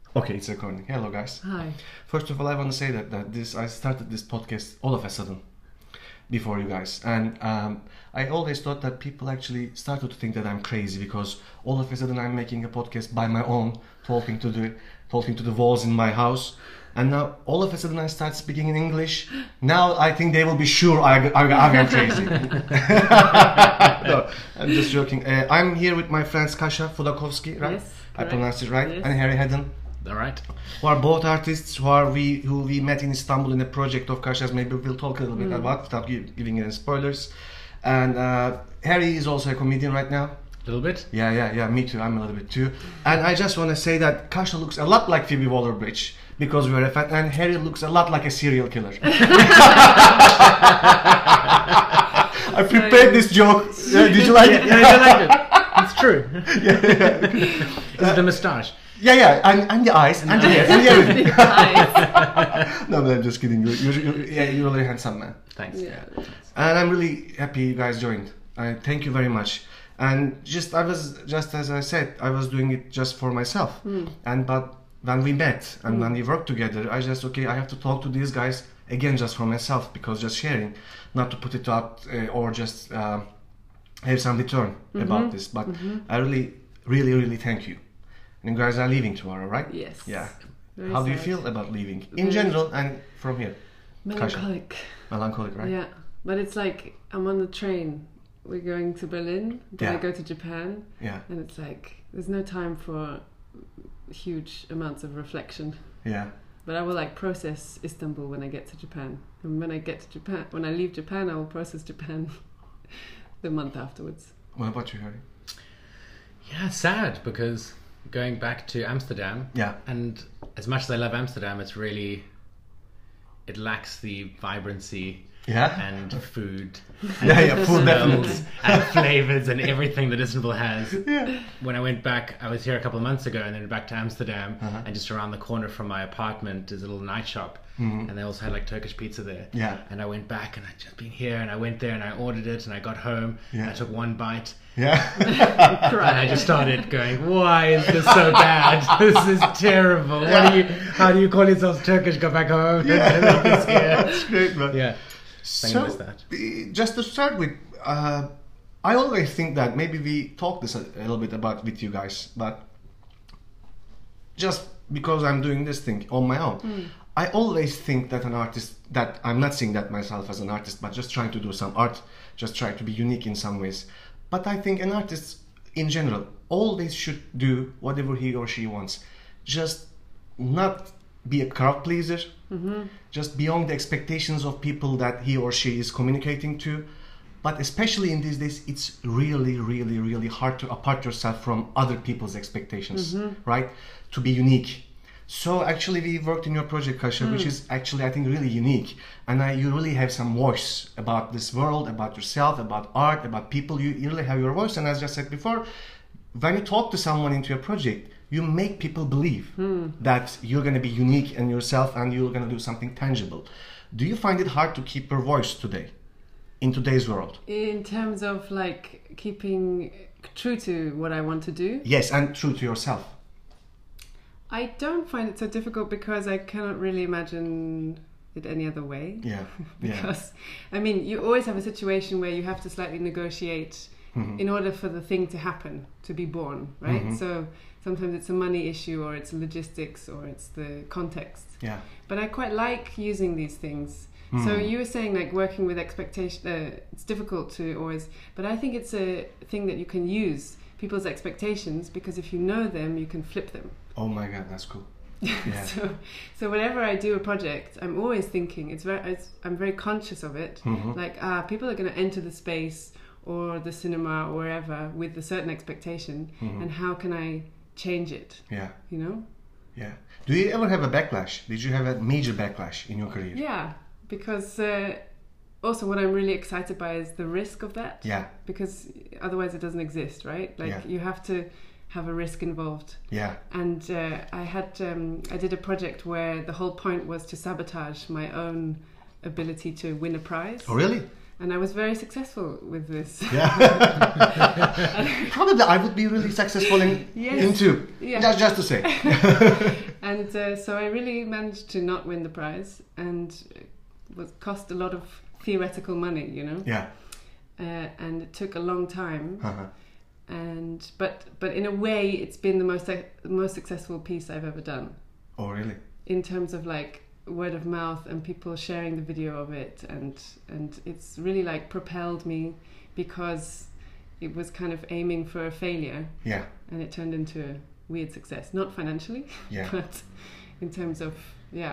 Okay, it's recording. Hello, guys. Hi. First of all, I want to say that I started this podcast all of a sudden before you guys, and I always thought that people actually started to think that I'm crazy because all of a sudden I'm making a podcast by my own, talking to the walls in my house, and now all of a sudden I start speaking in English. Now I think they will be sure I'm crazy. No, I'm just joking. I'm here with my friends Kasia Fudakowski, right? Yes, I pronounced it right, yes. and Harry Hedden. All right. Who are both artists who we met in Istanbul in a project of Kasia's. Maybe we'll talk a little bit about without giving any spoilers. And Harry is also a comedian right now. A little bit. Yeah, me too. I'm a little bit too. And I just want to say that Kasia looks a lot like Phoebe Waller-Bridge because we're a fan, and Harry looks a lot like a serial killer. I prepared this joke. Did you like it? Yeah, I like it. It's true. Is it the moustache? Yeah, and the eyes, and the hair, and everything. The eyes. No, but I'm just kidding. You're a really handsome man. Thanks. Yeah. And I'm really happy you guys joined. Thank you very much. And I was just as I said, I was doing it just for myself. But when we met and when we worked together, I have to talk to these guys again just for myself, because just sharing, not to put it out or just have some return about this. But I really, really, really thank you. And you guys are leaving tomorrow, right? Yes. Yeah. Very How do you sad. feel about leaving in general and from here? Melancholic. Melancholic, right? Yeah. But it's like I'm on the train. We're going to Berlin. Then Yeah. I go to Japan. Yeah. And it's like there's no time for huge amounts of reflection. Yeah. But I will like process Istanbul when I get to Japan. And when I leave Japan, I will process Japan the month afterwards. What about you, Harry? Yeah, sad because going back to Amsterdam. Yeah. And as much as I love Amsterdam, it lacks the vibrancy Yeah. and food. Yeah, food smells definitely. and flavors and everything that Istanbul has. Yeah. When I went back, I was here a couple of months ago and then back to Amsterdam, Uh-huh. and just around the corner from my apartment is a little night shop, and they also had like Turkish pizza there. Yeah. And I went back and I'd just been here and I went there and I ordered it and I got home and Yeah. I took one bite Yeah. and I just started going, why is this so bad? This is terrible. How do you call yourselves Turkish? Go back home. Yeah. This here. That's great, man. Yeah. So, miss that. Just to start with, I always think that maybe we talked this a little bit about with you guys, but just because I'm doing this thing on my own, I always think that an artist, that I'm not seeing that myself as an artist, but just trying to do some art, just trying to be unique in some ways. But I think an artist in general always should do whatever he or she wants. Just not be a crowd pleaser, just beyond the expectations of people that he or she is communicating to. But especially in these days, it's really, really, really hard to apart yourself from other people's expectations, right? To be unique. So actually we worked in your project, Kasia, which is actually, I think, really unique. And you really have some voice about this world, about yourself, about art, about people. You really have your voice. And as I said before, when you talk to someone into your project, you make people believe that you're going to be unique in yourself and you're going to do something tangible. Do you find it hard to keep your voice today, in today's world? In terms of like keeping true to what I want to do, Yes, and true to yourself. I don't find it so difficult because I cannot really imagine it any other way. Yeah, Because, I mean, you always have a situation where you have to slightly negotiate in order for the thing to happen, to be born, right? So sometimes it's a money issue or it's logistics or it's the context. Yeah. But I quite like using these things. So you were saying like working with expectation, it's difficult to always, but I think it's a thing that you can use, people's expectations, because if you know them, you can flip them. Oh my God, that's cool. Yeah. So whenever I do a project, I'm always thinking, I'm very conscious of it. Like, people are going to enter the space or the cinema or wherever with a certain expectation, and how can I change it? Yeah. You know? Yeah. Do you ever have a backlash? Did you have a major backlash in your career? Yeah, because also what I'm really excited by is the risk of that. Yeah. Because otherwise it doesn't exist, right? Like Yeah. you have to have a risk involved. Yeah. And I did a project where the whole point was to sabotage my own ability to win a prize. Oh, really? And I was very successful with this. Probably I would be really successful in two. Yeah. Just to say. And so I really managed to not win the prize, and it cost a lot of theoretical money, you know. Yeah. And it took a long time. Uh-huh. And but in a way, it's been the most successful piece I've ever done. Oh, really? In terms of like word of mouth and people sharing the video of it, and it's really like propelled me, because it was kind of aiming for a failure. Yeah. And it turned into a weird success, not financially, but in terms of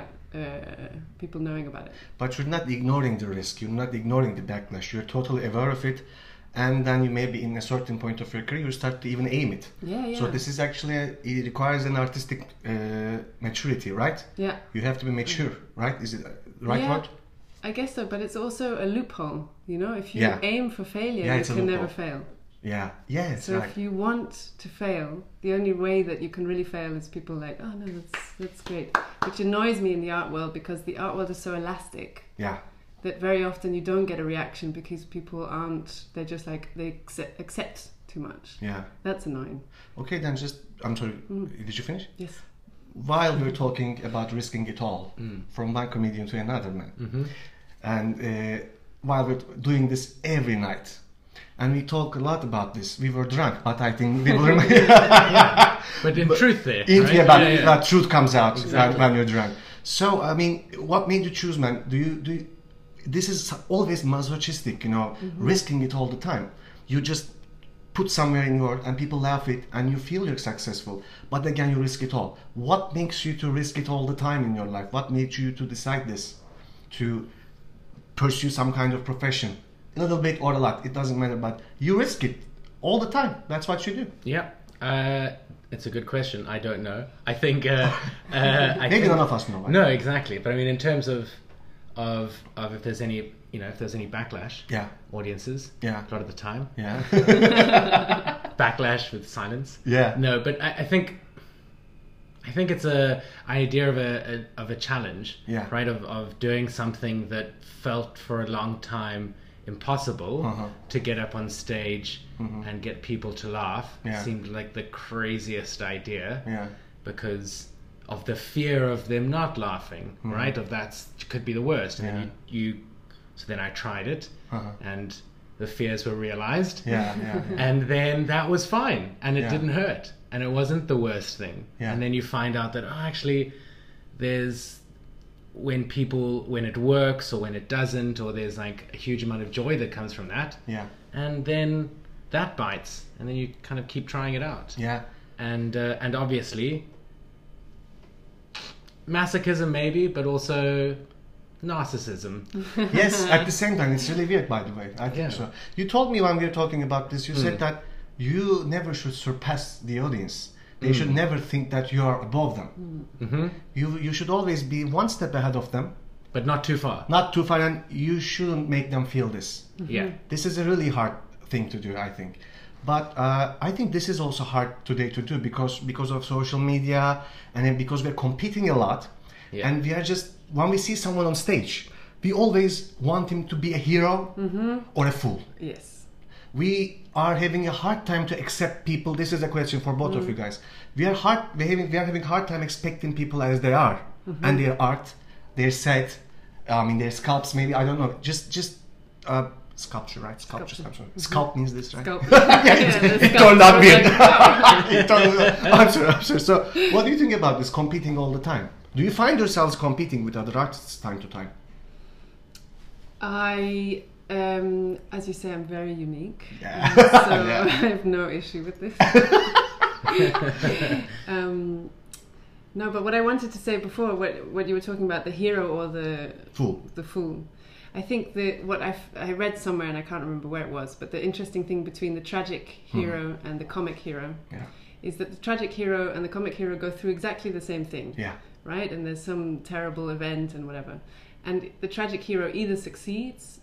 people knowing about it. But you're not ignoring the risk, you're not ignoring the backlash, you're totally aware of it, and then you maybe in a certain point of your career you start to even aim it. Yeah. So this is actually it requires an artistic maturity, right? Yeah. You have to be mature, right? Is it right word? I guess so, but it's also a loophole, you know. If you aim for failure, you can never fail. Yeah, it's so right. if you want to fail, the only way that you can really fail is people like, oh no, that's great. Which annoys me in the art world, because the art world is so elastic. Yeah. That very often you don't get a reaction because people aren't, they're just like, they accept too much. Yeah. That's annoying. Okay, then I'm sorry, did you finish? Yes. While we're talking about risking it all, from one comedian to another man, and while we're doing this every night, and we talk a lot about this, we were drunk, but I think we will But in truth there, right? That truth comes out when you're drunk. So, I mean, what made you choose, man? Do you this is always masochistic, you know, risking it all the time. You just put somewhere in world and people laugh it and you feel you're successful, but again you risk it all. What makes you to risk it all the time in your life? What made you to decide this, to pursue some kind of profession, a little bit or a lot, it doesn't matter, but you risk it all the time? That's what you do. It's a good question. I don't know. I think maybe none of us know, right? No, exactly, but I mean in terms of if there's any, you know, if there's any backlash, audiences, a lot of the time, backlash with silence, no, but I think it's a idea of a challenge, right, of doing something that felt for a long time impossible, to get up on stage and get people to laugh. Seemed like the craziest idea, because of the fear of them not laughing, right? Of that could be the worst. And then so then I tried it, and the fears were realized. And then that was fine, and it didn't hurt, and it wasn't the worst thing. And then you find out that actually, there's when it works or when it doesn't, or there's like a huge amount of joy that comes from that. And then that bites, and then you kind of keep trying it out. And obviously, masochism maybe, but also narcissism. Yes, at the same time. It's really weird, by the way. I think so. You told me when we were talking about this, you said that you never should surpass the audience. They should never think that you are above them. You should always be one step ahead of them. But not too far. Not too far, and you shouldn't make them feel this. This is a really hard thing to do, I think. But I think this is also hard today to do because of social media, and then because we're competing a lot, and we are just, when we see someone on stage, we always want him to be a hero or a fool. Yes. We are having a hard time to accept people. This is a question for both of you guys. We are having a hard time expecting people as they are, and their art, their set, their sculpts, maybe, I don't know, just sculpture, right? Sculpture. Sculpt means this, right? It turned out weird. I'm sorry. So, what do you think about this competing all the time? Do you find yourselves competing with other artists time to time? I, as you say, I'm very unique. So I have no issue with this. No, but what I wanted to say before, what you were talking about, the hero or the fool. I think what I read somewhere, and I can't remember where it was, but the interesting thing between the tragic hero and the comic hero is that the tragic hero and the comic hero go through exactly the same thing, right? And there's some terrible event and whatever, and the tragic hero either succeeds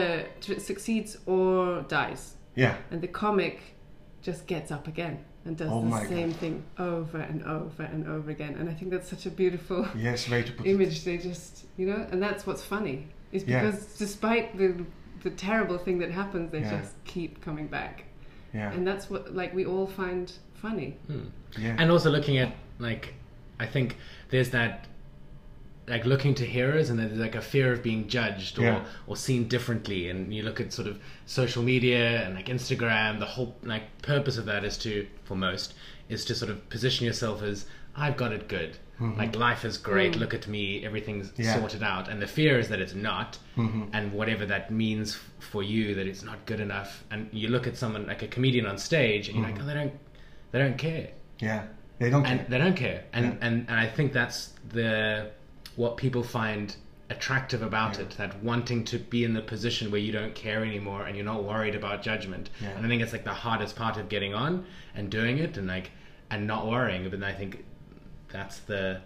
or dies. And the comic just gets up again and does the same thing over and over and over again. And I think that's such a beautiful way to put image. They just, and that's what's funny. Is because despite the the terrible thing that happens, they just keep coming back. Yeah. And that's what like we all find funny. Yeah. And also looking at like, I think there's that like looking to heroes, and there's like a fear of being judged or seen differently. And you look at sort of social media and like Instagram, the whole like purpose of that is to, for most, is to sort of position yourself as, I've got it good. Like life is great. Look at me. Everything's sorted out. And the fear is that it's not. And whatever that means for you, that it's not good enough. And you look at someone like a comedian on stage, and you're like, oh, they don't care. Yeah, they don't care. And they don't care. And I think that's what people find attractive about it, that wanting to be in the position where you don't care anymore and you're not worried about judgment. And I think it's like the hardest part of getting on and doing it and not worrying. But I think that's the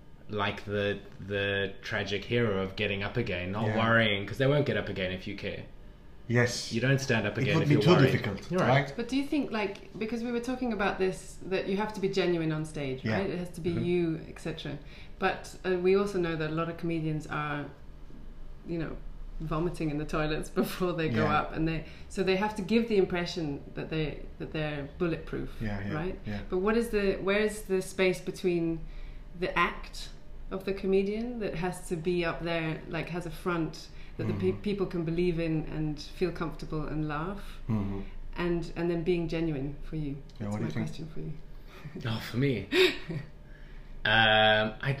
tragic hero of getting up again, not worrying, because they won't get up again if you care. Yes. You don't stand up again if It you're would be too worried. difficult, You're right? But do you think, like, because we were talking about this, that you have to be genuine on stage, right? It has to be you, etc. But we also know that a lot of comedians are, you know, vomiting in the toilets before they go up, and they have to give the impression that they're bulletproof, right? Yeah. But where's the space between the act of the comedian that has to be up there, like has a front that the people can believe in and feel comfortable and laugh, and then being genuine for you? Yeah, That's my question for you. Oh, for me, I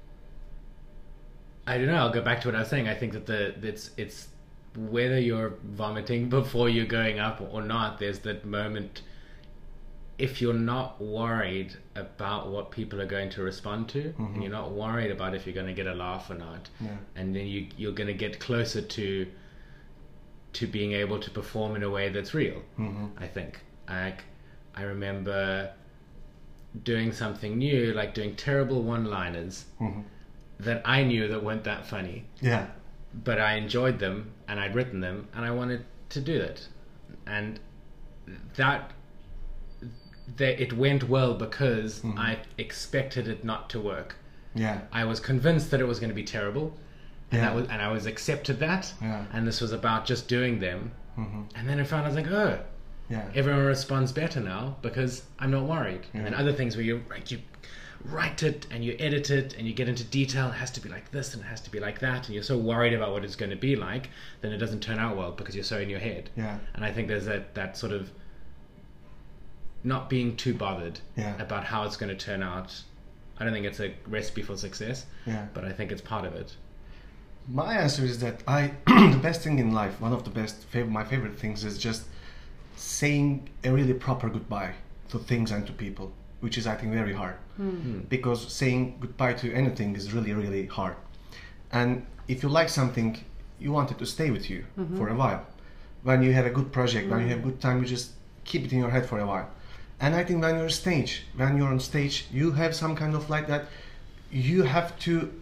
don't know. I'll go back to what I was saying. I think that it's whether you're vomiting before you're going up or not. There's that moment. If you're not worried about what people are going to respond to, and you're not worried about if you're going to get a laugh or not, and then you're going to get closer to being able to perform in a way that's real. I think. I remember doing something new, like doing terrible one-liners that I knew that weren't that funny. Yeah. But I enjoyed them, and I'd written them, and I wanted to do it, and it went well because I expected it not to work. Yeah. I was convinced that it was going to be terrible, and I was accepted that. Yeah. And this was about just doing them. And then I found, I was like, oh, everyone responds better now because I'm not worried. And other things where you write it and you edit it and you get into detail, it has to be like this and it has to be like that, and you're so worried about what it's going to be like, then it doesn't turn out well because you're so in your head. And I think there's that sort of not being too bothered about how it's going to turn out. I don't think it's a recipe for success, but I think it's part of it. My answer is that the best thing in life, one of the my favorite things, is just saying a really proper goodbye to things and to people, which is, I think, very hard. Because saying goodbye to anything is really, really hard. And if you like something, you want it to stay with you for a while. When you have a good project, when you have a good time, you just keep it in your head for a while. And I think when you're on stage, you have some kind of like that. You have to,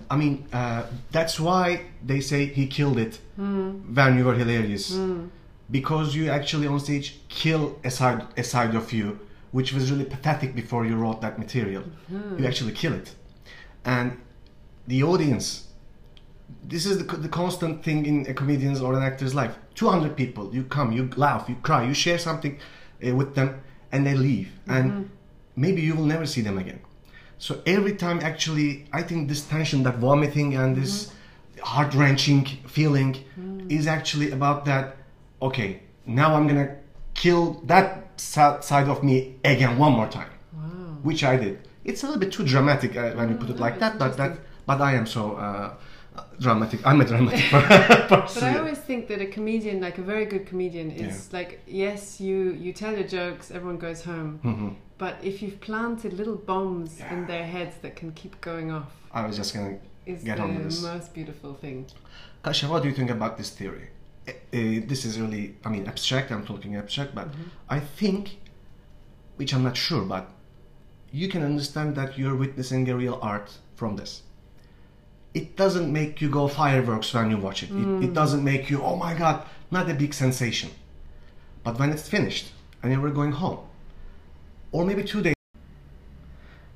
that's why they say he killed it when you were hilarious. Because you actually on stage kill a side of you, which was really pathetic before you wrote that material. You actually kill it. And the audience, this is the constant thing in a comedian's or an actor's life. 200 people, you come, you laugh, you cry, you share something with them, and they leave, and maybe you will never see them again. So every time, actually, I think this tension, that vomiting and this heart-wrenching feeling is actually about that, okay, now I'm gonna kill that side of me again one more time. Which I did. It's a little bit too dramatic when you put it like that, but I am so dramatic. I'm a dramatic person. But I always think that a comedian, like a very good comedian, is like, yes, you tell your jokes, everyone goes home, but if you've planted little bombs in their heads that can keep going off, I was just gonna get on with this. Is the most beautiful thing. Kasia, what do you think about this theory? This is really, abstract. I'm talking abstract, but I think, which I'm not sure, but you can understand that you're witnessing a real art from this. It doesn't make you go fireworks when you watch it. It doesn't make you, oh my God, not a big sensation. But when it's finished and you were going home, or maybe 2 days,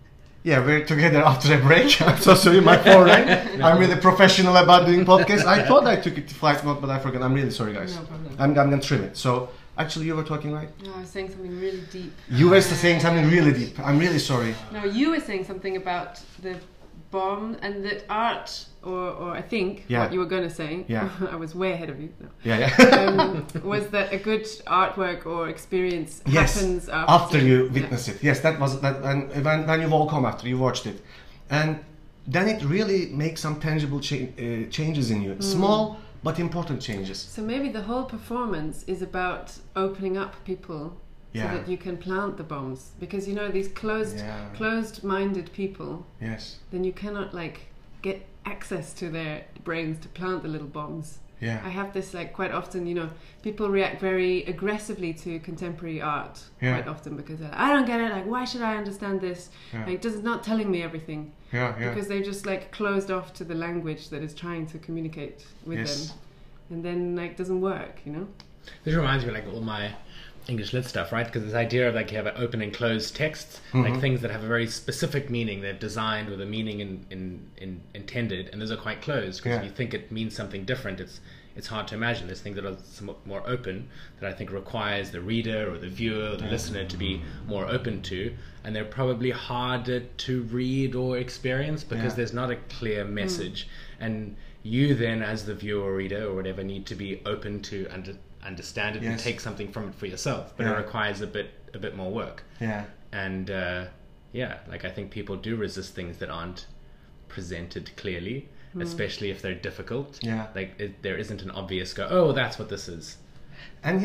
Yeah, we're together after a break. I'm so sorry, my foreign. I'm really professional about doing podcasts. I thought I took it to flight mode, but I forgot. I'm really sorry, guys. No problem. I'm going to trim it. So, actually, you were talking, right? No, I was saying something really deep. You were saying something really deep. I'm really sorry. No, you were saying something about the bomb and that art, or I think what you were going to say, I was way ahead of you. No. Was that a good artwork or experience happens after you witness it. Yes, that was that. And when you walk home after you watched it, and then it really makes some tangible changes in you. Small but important changes. So maybe the whole performance is about opening up people so that you can plant the bombs, because you know these closed-minded people. Yes. Then you cannot get access to their brains to plant the little bombs. Yeah. I have this quite often. You know, people react very aggressively to contemporary art quite often because they're like, I don't get it. Like, why should I understand this? Like, this is not telling me everything. Because they're just closed off to the language that is trying to communicate with them, and then it doesn't work. You know. This reminds me all my English lit stuff, right? Because this idea of you have an open and closed texts, things that have a very specific meaning, they're designed with a meaning intended, and those are quite closed because if you think it means something different, it's hard to imagine. There's things that are somewhat more open that I think requires the reader or the viewer or the listener to be more open to, and they're probably harder to read or experience because there's not a clear message, and you then as the viewer or reader or whatever need to be open to understand it and take something from it for yourself, but it requires a bit more work. And I think people do resist things that aren't presented clearly, especially if they're difficult. There isn't an obvious that's what this is. And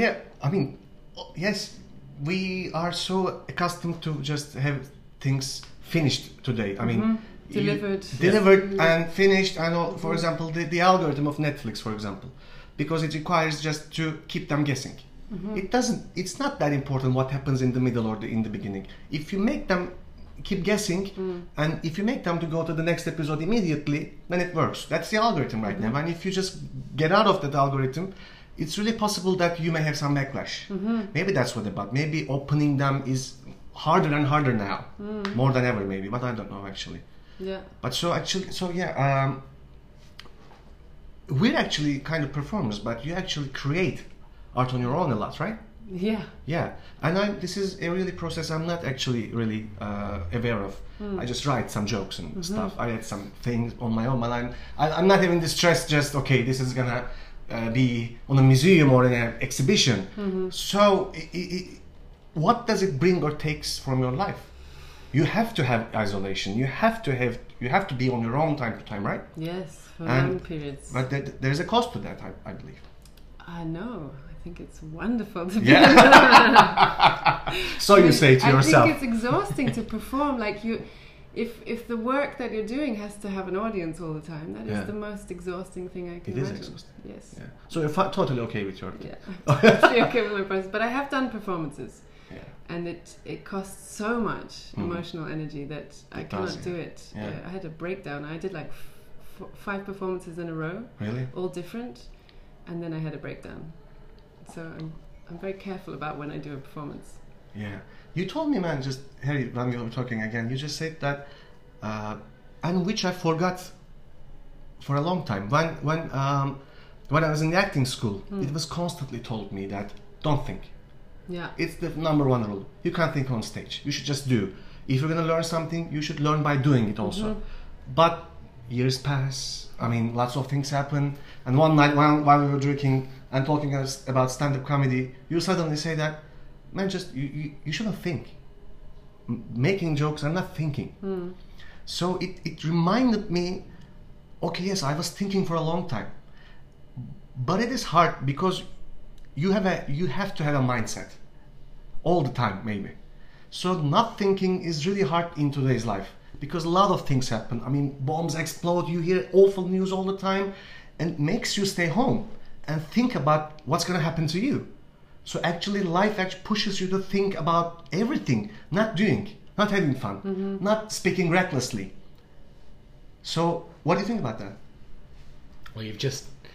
we are so accustomed to just have things finished today. I mean, delivered and finished. I know, for example, the algorithm of Netflix, for example, because it requires just to keep them guessing. It's not that important what happens in the middle or in the beginning. If you make them keep guessing, and if you make them to go to the next episode immediately, then it works. That's the algorithm right now. And if you just get out of that algorithm, it's really possible that you may have some backlash. Maybe that's what about. Maybe opening them is harder and harder now, more than ever maybe, but I don't know actually. But we're actually kind of performers, but you actually create art on your own a lot, right? Yeah. And this is a really process I'm not actually really aware of. I just write some jokes and stuff. I had some things on my own, but I'm not having this stress just, this is gonna be on a museum or in an exhibition. So what does it bring or takes from your life? You have to have isolation. You have to be on your own time to time, right? Yes, for long periods. But there's a cost to that, I believe. I know. I think it's wonderful to be. So you say to yourself. I think it's exhausting to perform. If the work that you're doing has to have an audience all the time, that is the most exhausting thing I can imagine. It is exhausting. Yes. Yeah. So you're totally okay with your. I'm totally okay with my process, but I have done performances. And it costs so much emotional energy that I cannot do it. I had a breakdown. I did 5 performances in a row, all different, and then I had a breakdown. So I'm very careful about when I do a performance. Yeah, you told me, man, just Harry, when we were talking again, you just said that, and which I forgot for a long time. When I was in the acting school, it was constantly told me that don't think. It's the number one rule. You can't think on stage. You should just do. If you're going to learn something, you should learn by doing it also. But years pass. I mean, lots of things happen. And one night while we were drinking and talking about stand-up comedy, you suddenly say that, man, just you shouldn't think. Making jokes, I'm not thinking. So it reminded me, yes, I was thinking for a long time. But it is hard because you have to have a mindset all the time, maybe. So not thinking is really hard in today's life because a lot of things happen. I mean, bombs explode, you hear awful news all the time, and it makes you stay home and think about what's going to happen to you. So actually life actually pushes you to think about everything, not having fun, not speaking recklessly. So what do you think about that? Well, you've just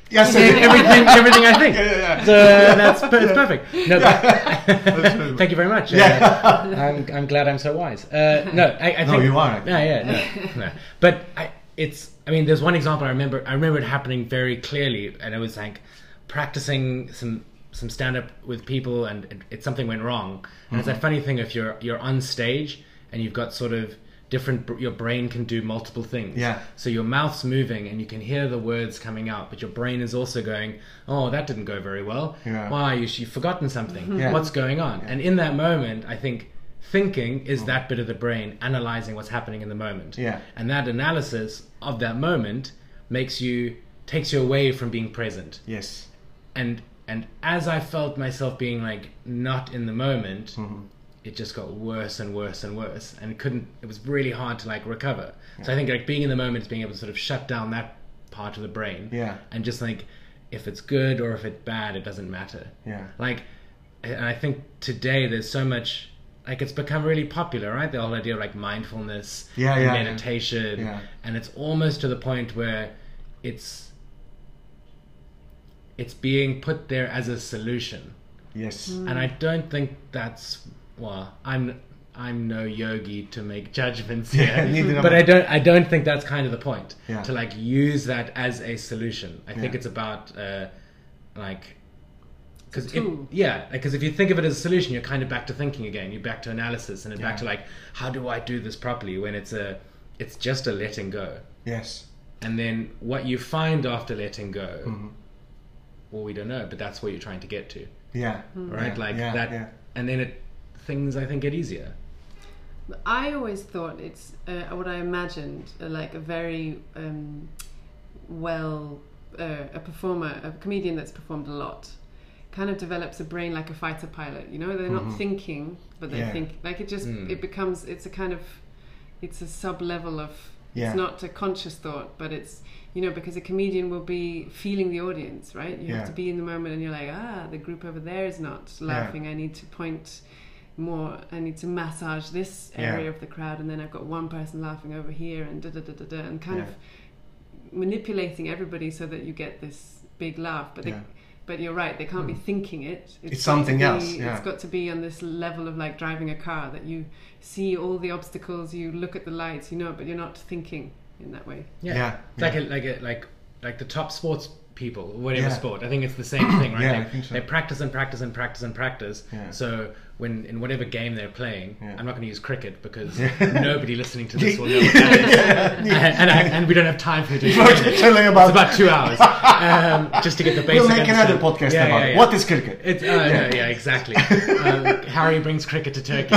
Yes, everything I think. Yeah. So it's perfect. No, thank you very much. I'm glad I'm so wise. I think no, you are. No. But there's one example I remember it happening very clearly, and it was like practicing some stand-up with people, and something went wrong. And it's that funny thing, if you're on stage and you've got sort of your brain can do multiple things. Yeah. So your mouth's moving and you can hear the words coming out, but your brain is also going, oh, that didn't go very well. Yeah. Why? You've forgotten something. Yeah. What's going on? Yeah. And in that moment, I think thinking is that bit of the brain analyzing what's happening in the moment. Yeah. And that analysis of that moment takes you away from being present. Yes. And as I felt myself being like not in the moment, it just got worse and worse and worse, and it was really hard to like recover. Yeah. So I think like being in the moment is being able to sort of shut down that part of the brain. Yeah. And just like, if it's good or if it's bad, it doesn't matter. Yeah. Like, and I think today there's so much, like it's become really popular, right? The whole idea of like mindfulness, and meditation. Yeah. And it's almost to the point where it's being put there as a solution. Yes. And I don't think that's, well, I'm no yogi to make judgments here, but I don't think that's kind of the point. Yeah. To like use that as a solution. I think it's about because if you think of it as a solution, you're kind of back to thinking again. You're back to analysis, and then back to like, how do I do this properly? When it's just a letting go. Yes. And then what you find after letting go, well, we don't know, but that's what you're trying to get to. Yeah. Right. And then things I think get easier. I always thought it's what I imagined like a very a performer, a comedian that's performed a lot, kind of develops a brain like a fighter pilot. You know, they're not thinking, but they think. Like it just it becomes it's a sub level of it's not a conscious thought, but it's, you know, because a comedian will be feeling the audience, right? You have to be in the moment, and you're like, the group over there is not laughing. I need to point more. I need to massage this area of the crowd, and then I've got one person laughing over here, and and kind of manipulating everybody so that you get this big laugh. But you're right, they can't be thinking it. It's something else. It's got to be on this level of like driving a car, that you see all the obstacles, you look at the lights, you know, but you're not thinking in that way. Like the top sports people, whatever sport. I think it's the same thing, right? I think so. They practice and practice and practice and practice. Yeah. So when in whatever game they're playing, I'm not going to use cricket because nobody listening to this will know what that is. And we don't have time for it. It's about 2 hours just to get the basic. We'll make another podcast about it. What is cricket? Exactly. Harry brings cricket to Turkey.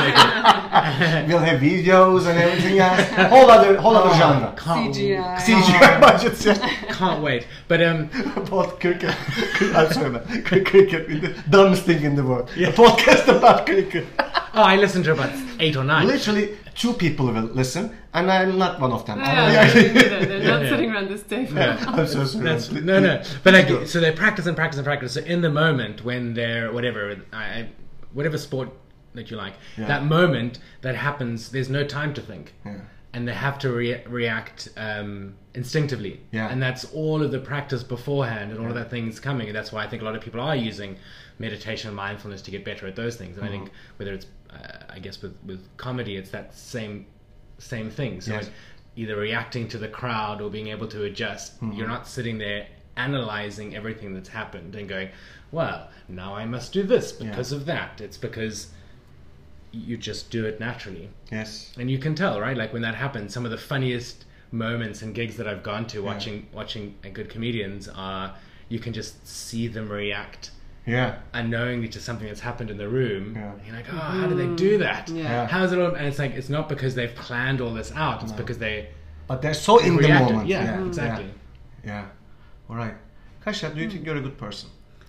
We'll have videos and everything else. Whole other genre. CGI budgets. Can't wait. But about cricket. I'm sorry, man. Cricket is the dumbest thing in the world. A podcast about cricket. I listened to about 8 or 9. Literally 2 people will listen, and I'm not one of them. They're not sitting around this table. I'm so sorry. No. But like, so they practice and practice and practice. So in the moment when they're whatever sport that you like, that moment that happens, there's no time to think. And they have to react instinctively. And that's all of the practice beforehand, and all of that things coming. And that's why I think a lot of people are using meditation and mindfulness to get better at those things. And I think whether it's, I guess with comedy, it's that same thing. So it's either reacting to the crowd or being able to adjust. You're not sitting there analyzing everything that's happened and going, well, now I must do this because of that. It's because you just do it naturally. Yes. And you can tell, right? Like when that happens, some of the funniest moments and gigs that I've gone to watching good comedians are, you can just see them react unknowingly to something that's happened in the room. And you're like, how do they do that? How is it all? And it's like, it's not because they've planned all this out. It's because but they're so in reacted. the moment. Yeah, exactly. Yeah. All right. Kasia, do you think you're a good person?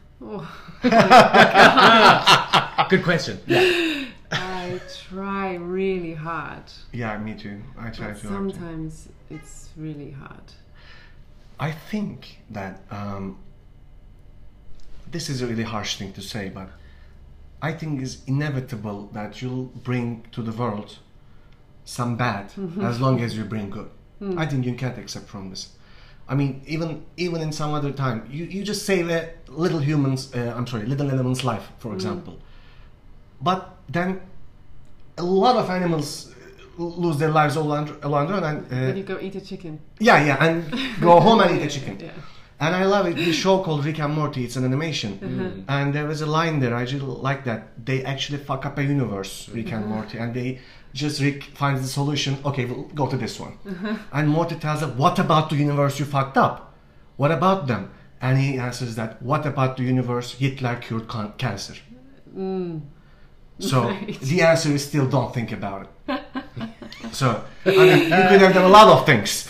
Good question. I try really hard. Yeah, me too. I try to. Sometimes it's really hard. I think that this is a really harsh thing to say, but I think it's inevitable that you'll bring to the world some bad as long as you bring good. I think you can't accept from this. I mean, even in some other time, you just save a little little element's life, for example. But then a lot of animals lose their lives all along the run. And then you go eat a chicken. Yeah, and go home and eat a chicken. Yeah. And I love it. This show called Rick and Morty. It's an animation, and there was a line there. I really like that. They actually fuck up a universe, Rick and Morty, and Rick finds the solution. Okay, we'll go to this one, and Morty tells him, "What about the universe you fucked up? What about them?" And he answers that, "What about the universe Hitler cured cancer?" So the answer is still don't think about it. So I mean, you could have done a lot of things.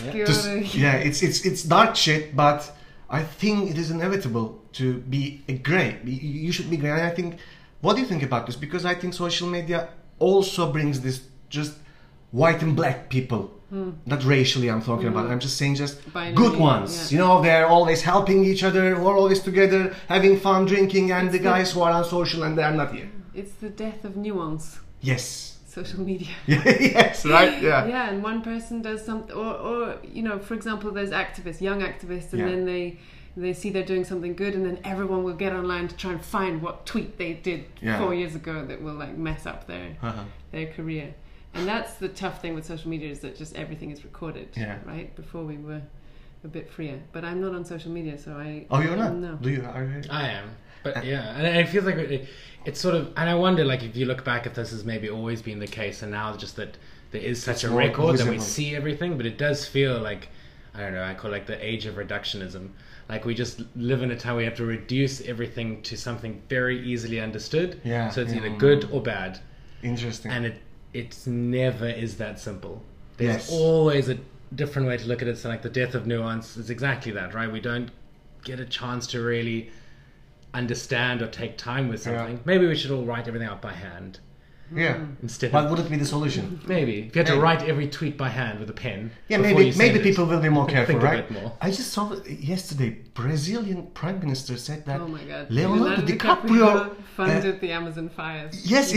It's dark shit, but I think it is inevitable to be a grey. You should be grey. And I think, what do you think about this? Because I think social media also brings this just white and black people. Not racially I'm talking about. I'm just saying just binary, good ones. Yeah. You know, they're always helping each other. We're always together, having fun, drinking, and the guys who are unsocial and they're not here. It's the death of nuance. Yes. Social media. Yes, right? Yeah. Yeah, and one person does something, or you know, for example, there's activists, young activists, and then they see they're doing something good, and then everyone will get online to try and find what tweet they did 4 years ago that will like mess up their career. And that's the tough thing with social media, is that just everything is recorded. Yeah. Right? Before we were a bit freer, but I'm not on social media, so I. Oh, you're not? No. Do you? Are you? I am. But yeah, and it feels like it's sort of, and I wonder, like, if you look back, if this has maybe always been the case, and now just that there is such a record that we see everything, but it does feel like, I don't know, I call it like the age of reductionism. Like, we just live in a time where we have to reduce everything to something very easily understood. Yeah. So it's either good or bad. Interesting. And it never is that simple. There's always a different way to look at it. So like the death of nuance is exactly that, right? We don't get a chance to really understand or take time with something. Maybe we should all write everything out by hand. Yeah. Instead, but would it be the solution? Maybe if you had to write every tweet by hand with a pen. Yeah, maybe people will be more careful, think right? A bit more. I just saw yesterday, Brazilian Prime Minister said that. Oh my God! Leonardo DiCaprio funded the Amazon fires. Yes,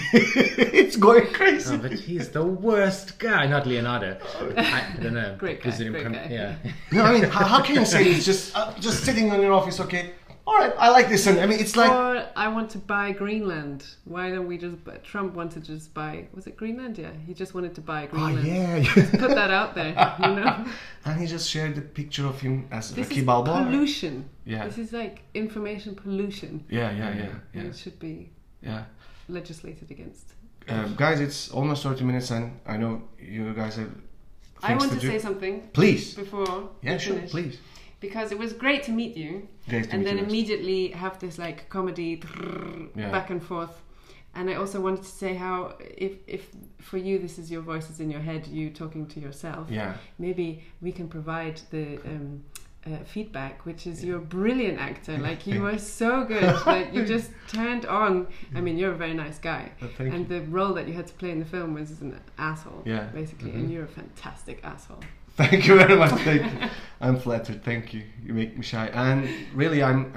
it's going crazy. Oh, but he's the worst guy. Not Leonardo. I don't know. Great guy. Yeah. No, I mean, how can you say it's just sitting in your office? Okay. All right, I like this, and I mean, it's like. Or I want to buy Greenland. Why don't we just? Trump wanted to just buy. Was it Greenland? Yeah, he just wanted to buy Greenland. Oh yeah. Just put that out there, you know. And he just shared the picture of him as Rocky Balboa. This is pollution. Yeah. This is like information pollution. Yeah. And it should be. Yeah. Legislated against. Guys, it's almost 30 minutes, and I know you guys have. I want to say something. Please. Before. Yeah, sure. Please. Because it was great to meet you, and then immediately have this like comedy back and forth. And I also wanted to say how if for you this is your voices in your head, you talking to yourself. Yeah. Maybe we can provide the feedback, which is you're a brilliant actor. Like you were so good. Like you just turned on. I mean, you're a very nice guy. And the role that you had to play in the film was an asshole. Yeah. Basically, and you're a fantastic asshole. Thank you very much. Thank you. I'm flattered. Thank you. You make me shy. And really, I'm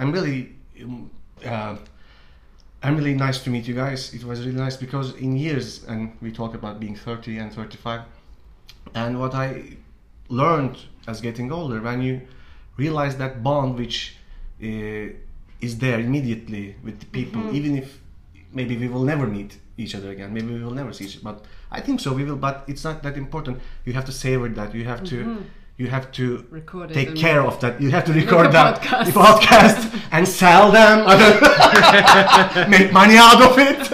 really nice to meet you guys. It was really nice because in years, and we talk about being 30 and 35, and what I learned as getting older, when you realize that bond which is there immediately with the people, even if maybe we will never meet each other again, maybe we will never see each other, but I think so we will, but it's not that important. You have to savor that. You have to record it, take care of that. You have to record that podcast and sell them, make money out of it.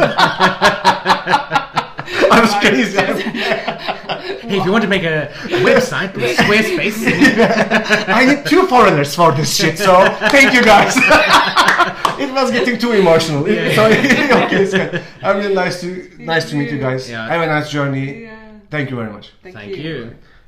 I was crazy. Hey, if you want to make a website with Squarespace, I need 2 foreigners for this shit. So thank you guys. It was getting too emotional. Okay, so I'm really nice to meet you guys. Yeah. Have a nice journey. Yeah. Thank you very much. Thank you.